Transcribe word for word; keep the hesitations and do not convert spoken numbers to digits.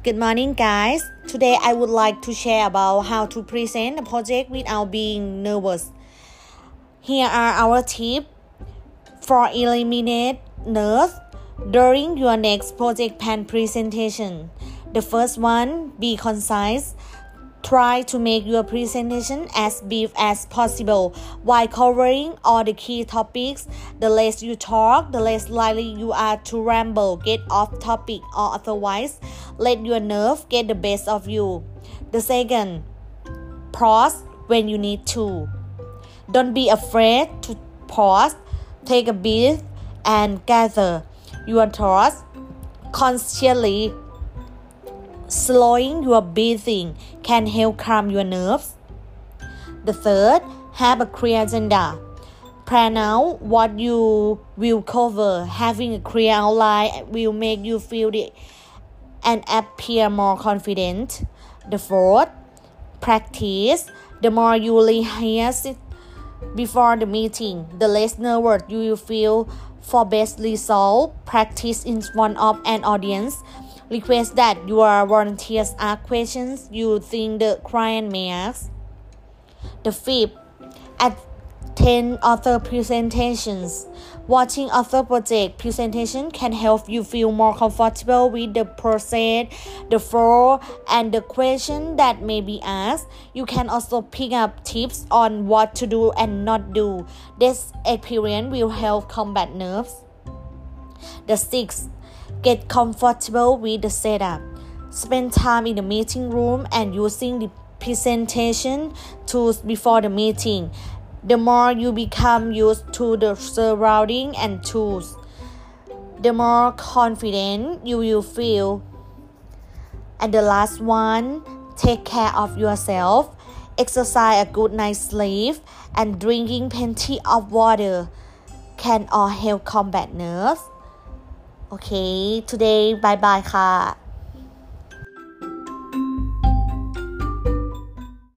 Good morning, guys. Today I would like to share about how to present a project without being nervous. Here are our tips for eliminate nerves during your next project plan presentation. The first one, be concise. Try to make your presentation as brief as possible while covering all the key topics. The less you talk, the less likely you are to ramble, get off topic, or otherwise let your nerve get the best of you. The second, pause when you need to. Don't be afraid to pause. Take a breath and gather your thoughts consciously. Slowing your breathing can help calm your nerves. The third, have a clear agenda. Plan out what you will cover. Having a clear outline will make you feel it and appear more confident. The fourth, practice. The more you rehearse it before the meeting, the less nervous you will feel. For best result, practice in front of an audience. Request that your volunteers ask questions you think the client may ask. The fifth, attend other presentations. Watching other project presentation can help you feel more comfortable with the process, the flow, and the question that may be asked. You can also pick up tips on what to do and not do. This experience will help combat nerves. The sixth, get comfortable with the setup. Spend time in the meeting room and using the presentation tools before the meeting. The more you become used to the surrounding and tools, the more confident you will feel. And the last one, take care of yourself. Exercise, a good night's sleep, and drinking plenty of water can all help combat nerves. Okay, today bye bye ค่ะ